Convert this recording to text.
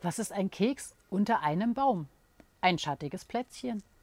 Was ist ein Keks unter einem Baum? Ein schattiges Plätzchen.